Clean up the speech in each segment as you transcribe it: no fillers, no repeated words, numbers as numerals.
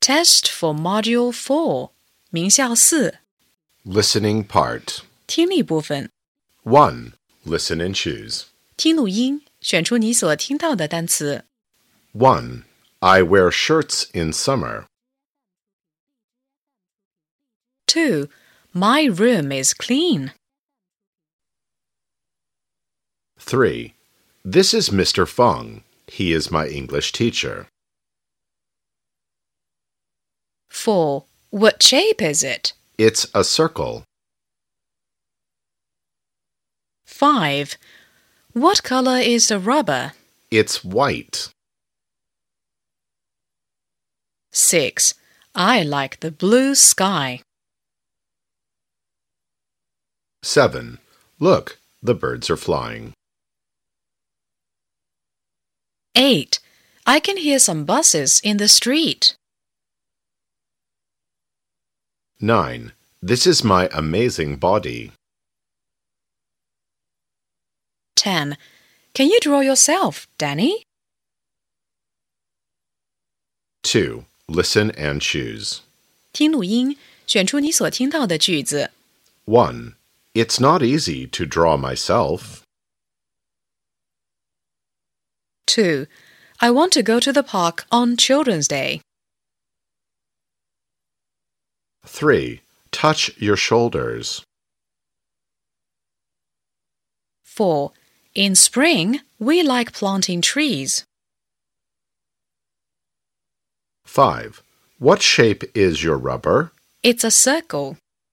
Test for Module 4 名校4 Listening part. 听力部分 1. Listen and choose. 听录音，选出你所听到的单词。 1. I wear shirts in summer. 2. My room is clean. 3. This is Mr. Feng. He is my English teacher. 4. What shape is it? It's a circle. 5. What color is the rubber? It's white. 6. I like the blue sky. 7. Look, the birds are flying. 8. I can hear some buses in the street. 9. This is my amazing body. 10. Can you draw yourself, Danny? 2. Listen and choose. 听录音，选出你所听到的句子。 1. It's not easy to draw myself. 2. I want to go to the park on Children's Day. 3. Touch your shoulders. 4. In spring, we like planting trees. 5. What shape is your rubber? It's a circle.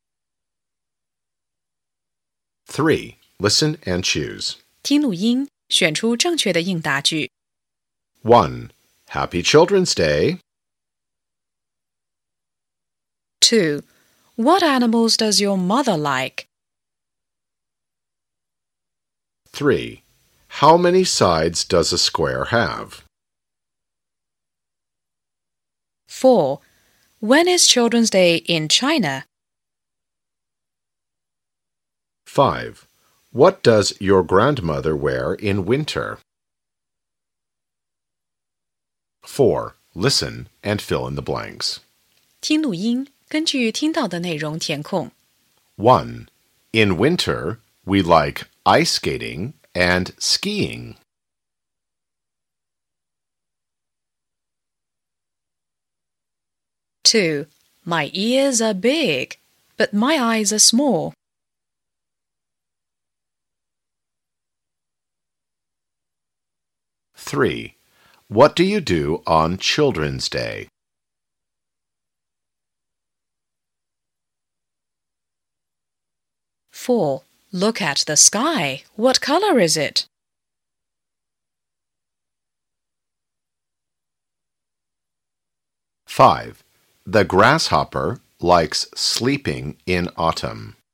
3. Listen and choose. 听录音，选出正确的应答句。 1. Happy Children's Day. 2. What animals does your mother like? 3. How many sides does a square have? 4. When is Children's Day in China? 5. What does your grandmother wear in winter? 4. Listen and fill in the blanks. 听录音，根据听到的内容填空。 1. In winter, we like ice skating and skiing. 2. My ears are big, but my eyes are small. 3. What do you do on Children's Day? 4. Look at the sky. What color is it? 5. The grasshopper likes sleeping in autumn.